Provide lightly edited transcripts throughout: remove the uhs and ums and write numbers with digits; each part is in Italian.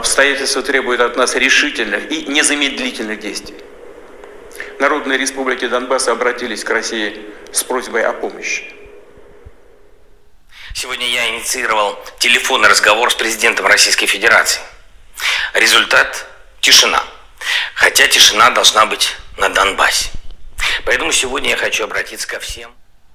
Обстоятельства требуют от нас решительных и незамедлительных действий. Народные республики Донбасса обратились к России с просьбой о помощи. Сегодня я инициировал телефонный разговор с президентом Российской Федерации. Результат – тишина. Хотя тишина должна быть на Донбассе. Поэтому сегодня я хочу обратиться ко всем.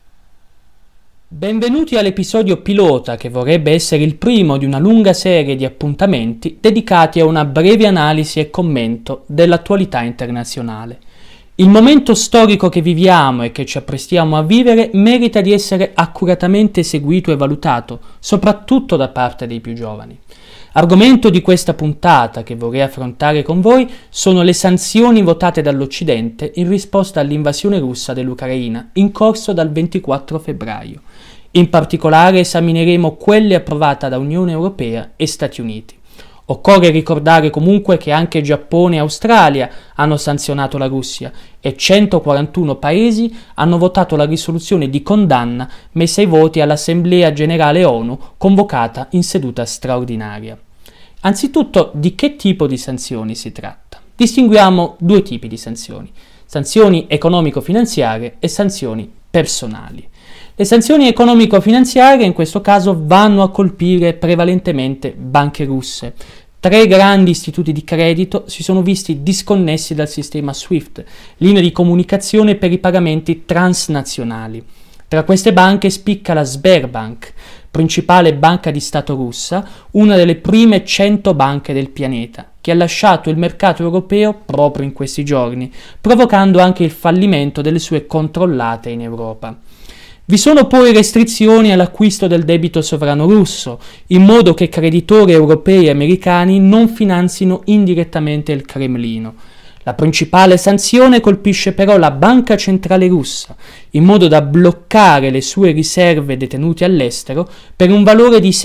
Benvenuti all'episodio pilota che vorrebbe essere il primo di una lunga serie di appuntamenti dedicati a una breve analisi e commento dell'attualità internazionale. Il momento storico che viviamo e che ci apprestiamo a vivere merita di essere accuratamente seguito e valutato, soprattutto da parte dei più giovani. Argomento di questa puntata che vorrei affrontare con voi sono le sanzioni votate dall'Occidente in risposta all'invasione russa dell'Ucraina in corso dal 24 febbraio. In particolare esamineremo quelle approvate da Unione Europea e Stati Uniti. Occorre ricordare comunque che anche Giappone e Australia hanno sanzionato la Russia e 141 paesi hanno votato la risoluzione di condanna messa ai voti all'Assemblea Generale ONU convocata in seduta straordinaria. Anzitutto, di che tipo di sanzioni si tratta? Distinguiamo due tipi di sanzioni: sanzioni economico-finanziarie e sanzioni personali. Le sanzioni economico-finanziarie in questo caso vanno a colpire prevalentemente banche russe. 3 grandi istituti di credito si sono visti disconnessi dal sistema SWIFT, linea di comunicazione per i pagamenti transnazionali. Tra queste banche spicca la Sberbank, principale banca di Stato russa, una delle prime 100 banche del pianeta, che ha lasciato il mercato europeo proprio in questi giorni, provocando anche il fallimento delle sue controllate in Europa. Vi sono poi restrizioni all'acquisto del debito sovrano russo, in modo che creditori europei e americani non finanzino indirettamente il Cremlino. La principale sanzione colpisce però la Banca Centrale Russa, in modo da bloccare le sue riserve detenute all'estero per un valore di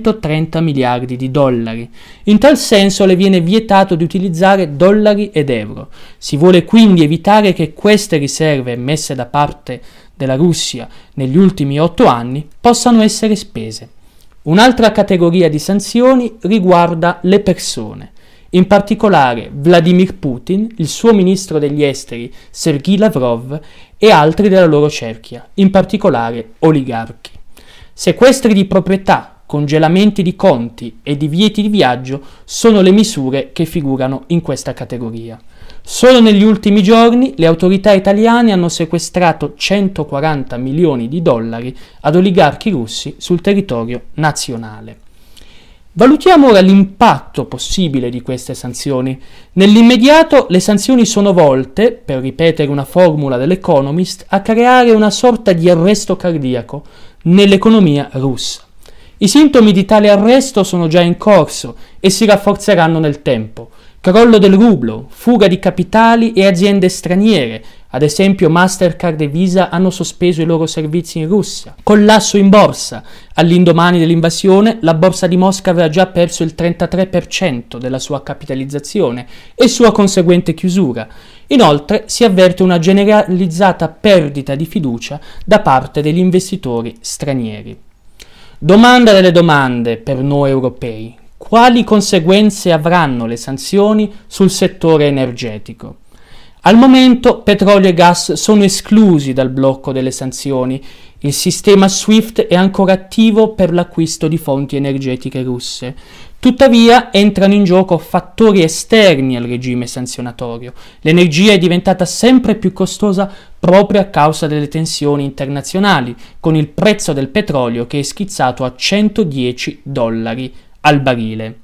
630 miliardi di dollari. In tal senso le viene vietato di utilizzare dollari ed euro. Si vuole quindi evitare che queste riserve messe da parte della Russia negli ultimi 8 anni possano essere spese. Un'altra categoria di sanzioni riguarda le persone. In particolare Vladimir Putin, il suo ministro degli esteri Sergei Lavrov e altri della loro cerchia, in particolare oligarchi. Sequestri di proprietà, congelamenti di conti e divieti di viaggio sono le misure che figurano in questa categoria. Solo negli ultimi giorni le autorità italiane hanno sequestrato 140 milioni di dollari ad oligarchi russi sul territorio nazionale. Valutiamo ora l'impatto possibile di queste sanzioni. Nell'immediato le sanzioni sono volte, per ripetere una formula dell'Economist, a creare una sorta di arresto cardiaco nell'economia russa. I sintomi di tale arresto sono già in corso e si rafforzeranno nel tempo. Crollo del rublo, fuga di capitali e aziende straniere, ad esempio Mastercard e Visa hanno sospeso i loro servizi in Russia. Collasso in borsa. All'indomani dell'invasione la borsa di Mosca aveva già perso il 33% della sua capitalizzazione e sua conseguente chiusura. Inoltre si avverte una generalizzata perdita di fiducia da parte degli investitori stranieri. Domanda delle domande per noi europei. Quali conseguenze avranno le sanzioni sul settore energetico? Al momento petrolio e gas sono esclusi dal blocco delle sanzioni. Il sistema SWIFT è ancora attivo per l'acquisto di fonti energetiche russe. Tuttavia entrano in gioco fattori esterni al regime sanzionatorio. L'energia è diventata sempre più costosa proprio a causa delle tensioni internazionali, con il prezzo del petrolio che è schizzato a $110 al barile.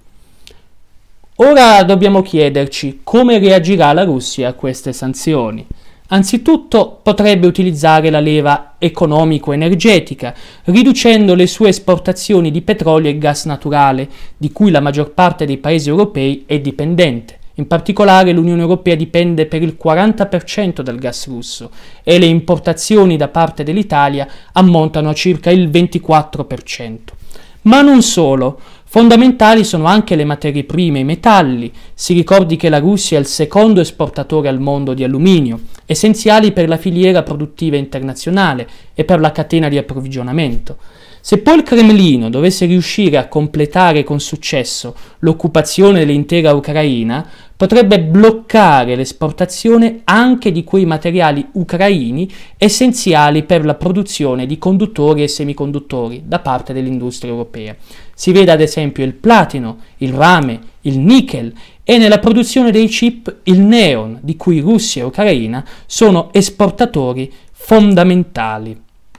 Ora dobbiamo chiederci come reagirà la Russia a queste sanzioni. Anzitutto potrebbe utilizzare la leva economico-energetica, riducendo le sue esportazioni di petrolio e gas naturale, di cui la maggior parte dei paesi europei è dipendente. In particolare l'Unione Europea dipende per il 40% dal gas russo e le importazioni da parte dell'Italia ammontano a circa il 24%. Ma non solo. Fondamentali sono anche le materie prime e i metalli. Si ricordi che la Russia è il secondo esportatore al mondo di alluminio, essenziali per la filiera produttiva internazionale e per la catena di approvvigionamento. Se poi il Cremlino dovesse riuscire a completare con successo l'occupazione dell'intera Ucraina, potrebbe bloccare l'esportazione anche di quei materiali ucraini essenziali per la produzione di conduttori e semiconduttori da parte dell'industria europea. Si veda ad esempio il platino, il rame, il nickel e nella produzione dei chip il neon, di cui Russia e Ucraina sono esportatori fondamentali.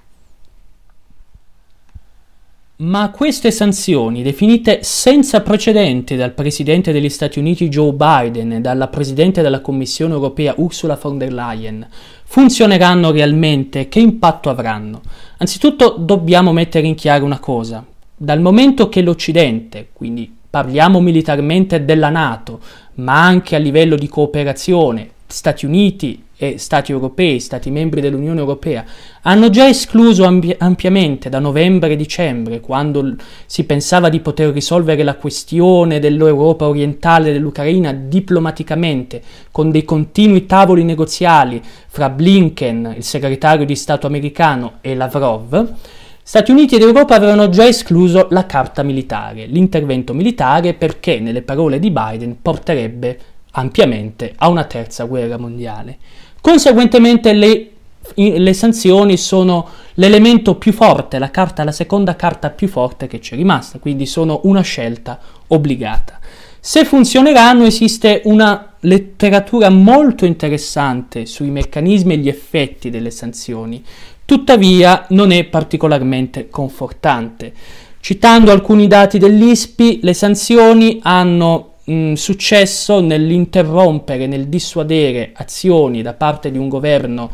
Ma queste sanzioni, definite senza precedenti dal presidente degli Stati Uniti Joe Biden e dalla presidente della Commissione europea Ursula von der Leyen, funzioneranno realmente? Che impatto avranno? Anzitutto dobbiamo mettere in chiaro una cosa. Dal momento che l'Occidente, quindi parliamo militarmente della NATO, ma anche a livello di cooperazione, Stati Uniti e Stati europei, Stati membri dell'Unione Europea, hanno già escluso ampiamente da novembre e dicembre, quando si pensava di poter risolvere la questione dell'Europa orientale e dell'Ucraina diplomaticamente, con dei continui tavoli negoziali fra Blinken, il segretario di Stato americano, e Lavrov. Stati Uniti ed Europa avevano già escluso la carta militare, l'intervento militare, perché, nelle parole di Biden, porterebbe ampiamente a una terza guerra mondiale. Conseguentemente le sanzioni sono l'elemento più forte, la seconda carta più forte che ci è rimasta, quindi sono una scelta obbligata. Se funzioneranno, esiste una letteratura molto interessante sui meccanismi e gli effetti delle sanzioni, tuttavia non è particolarmente confortante. Citando alcuni dati dell'ISPI, le sanzioni hanno successo nell'interrompere, nel dissuadere azioni da parte di un governo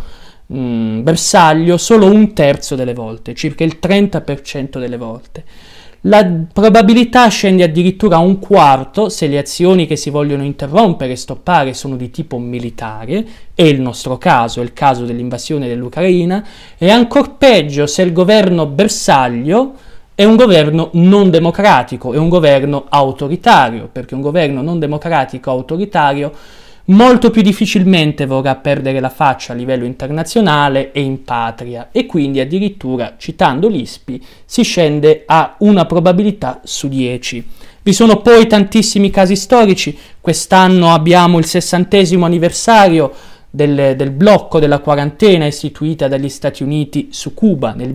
bersaglio solo un terzo delle volte, circa il 30% delle volte. La probabilità scende addirittura a un quarto se le azioni che si vogliono interrompere e stoppare sono di tipo militare, è il nostro caso, è il caso dell'invasione dell'Ucraina, e ancor peggio se il governo bersaglio è un governo non democratico, è un governo autoritario, perché un governo non democratico autoritario molto più difficilmente vorrà perdere la faccia a livello internazionale e in patria, e quindi addirittura, citando l'ISPI, si scende a una probabilità su 10. Vi sono poi tantissimi casi storici. Quest'anno abbiamo il 60° anniversario del blocco della quarantena istituita dagli Stati Uniti su Cuba nel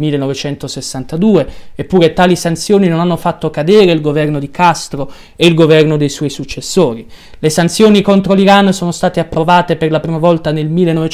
1962, eppure tali sanzioni non hanno fatto cadere il governo di Castro e il governo dei suoi successori. Le sanzioni contro l'Iran sono state approvate per la prima volta nel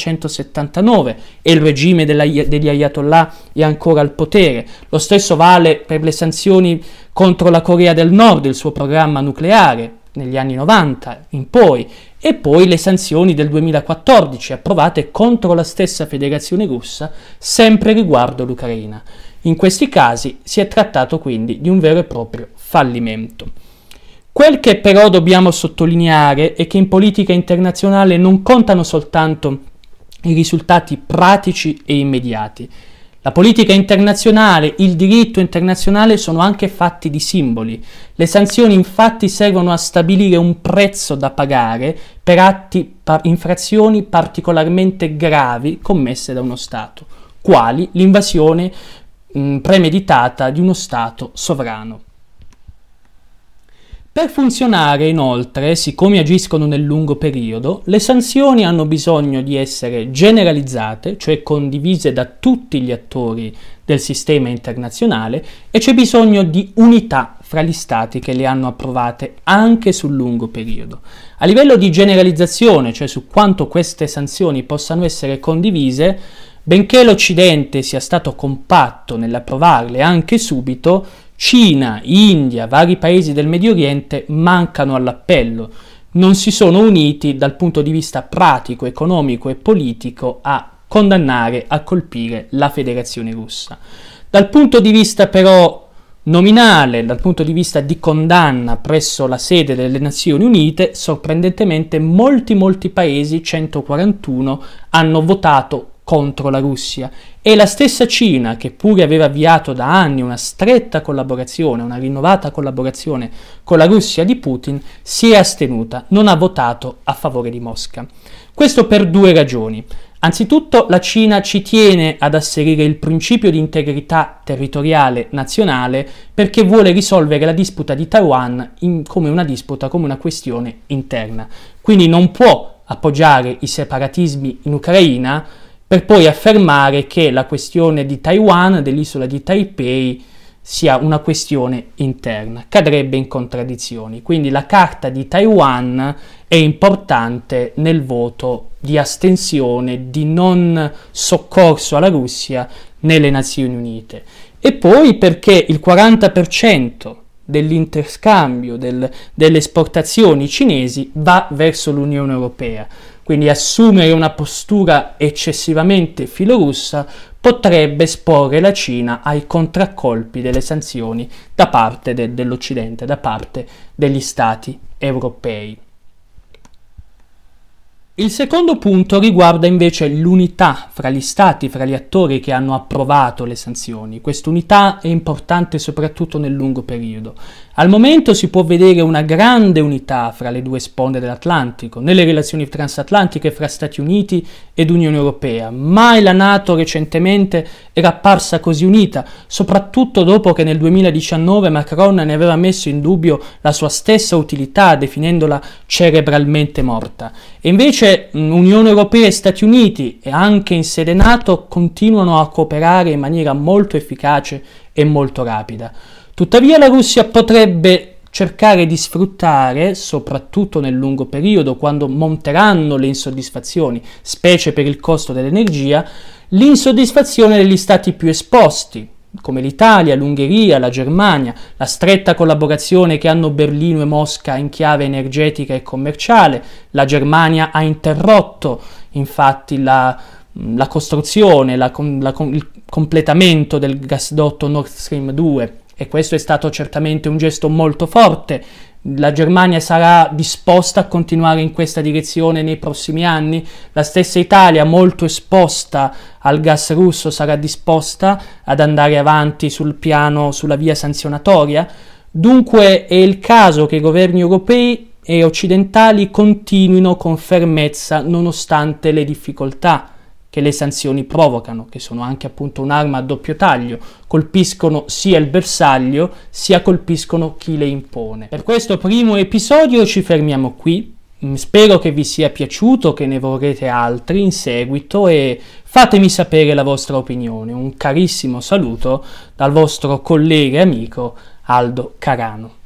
1979 e il regime degli Ayatollah è ancora al potere. Lo stesso vale per le sanzioni contro la Corea del Nord, il suo programma nucleare, negli anni 90 in poi, e poi le sanzioni del 2014 approvate contro la stessa Federazione Russa, sempre riguardo l'Ucraina. In questi casi si è trattato quindi di un vero e proprio fallimento. Quel che però dobbiamo sottolineare è che in politica internazionale non contano soltanto i risultati pratici e immediati. La politica internazionale, il diritto internazionale sono anche fatti di simboli. Le sanzioni infatti servono a stabilire un prezzo da pagare per infrazioni particolarmente gravi commesse da uno Stato, quali l'invasione premeditata di uno Stato sovrano. Per funzionare, inoltre, siccome agiscono nel lungo periodo, le sanzioni hanno bisogno di essere generalizzate, cioè condivise da tutti gli attori del sistema internazionale, e c'è bisogno di unità fra gli stati che le hanno approvate anche sul lungo periodo. A livello di generalizzazione, cioè su quanto queste sanzioni possano essere condivise, benché l'Occidente sia stato compatto nell'approvarle anche subito, Cina, India, vari paesi del Medio Oriente mancano all'appello, non si sono uniti dal punto di vista pratico, economico e politico a condannare, a colpire la Federazione Russa. Dal punto di vista però nominale, dal punto di vista di condanna presso la sede delle Nazioni Unite, sorprendentemente molti paesi, 141, hanno votato contro la Russia, e la stessa Cina, che pure aveva avviato da anni una stretta collaborazione, una rinnovata collaborazione con la Russia di Putin, si è astenuta, non ha votato a favore di Mosca. Questo per due ragioni. Anzitutto la Cina ci tiene ad asserire il principio di integrità territoriale nazionale perché vuole risolvere la disputa di Taiwan come una disputa, come una questione interna. Quindi non può appoggiare i separatismi in Ucraina per poi affermare che la questione di Taiwan, dell'isola di Taipei, sia una questione interna, cadrebbe in contraddizioni. Quindi la carta di Taiwan è importante nel voto di astensione, di non soccorso alla Russia nelle Nazioni Unite. E poi perché il 40% dell'interscambio delle esportazioni cinesi va verso l'Unione Europea. Quindi assumere una postura eccessivamente filorussa potrebbe esporre la Cina ai contraccolpi delle sanzioni da parte dell'Occidente, da parte degli Stati europei. Il secondo punto riguarda invece l'unità fra gli stati, fra gli attori che hanno approvato le sanzioni. Quest'unità è importante soprattutto nel lungo periodo. Al momento si può vedere una grande unità fra le due sponde dell'Atlantico, nelle relazioni transatlantiche fra Stati Uniti ed Unione Europea. Mai la NATO recentemente era apparsa così unita, soprattutto dopo che nel 2019 Macron ne aveva messo in dubbio la sua stessa utilità, definendola cerebralmente morta. E invece Unione Europea e Stati Uniti, e anche in sede NATO, continuano a cooperare in maniera molto efficace e molto rapida. Tuttavia la Russia potrebbe cercare di sfruttare, soprattutto nel lungo periodo, quando monteranno le insoddisfazioni, specie per il costo dell'energia, l'insoddisfazione degli stati più esposti, come l'Italia, l'Ungheria, la Germania, la stretta collaborazione che hanno Berlino e Mosca in chiave energetica e commerciale. La Germania ha interrotto infatti la costruzione, il completamento del gasdotto Nord Stream 2, e questo è stato certamente un gesto molto forte. La Germania sarà disposta a continuare in questa direzione nei prossimi anni? La stessa Italia, molto esposta al gas russo, sarà disposta ad andare avanti sulla via sanzionatoria? Dunque è il caso che i governi europei e occidentali continuino con fermezza nonostante le difficoltà che le sanzioni provocano, che sono anche appunto un'arma a doppio taglio, colpiscono sia il bersaglio, sia colpiscono chi le impone. Per questo primo episodio ci fermiamo qui, spero che vi sia piaciuto, che ne vorrete altri in seguito e fatemi sapere la vostra opinione. Un carissimo saluto dal vostro collega e amico Aldo Carano.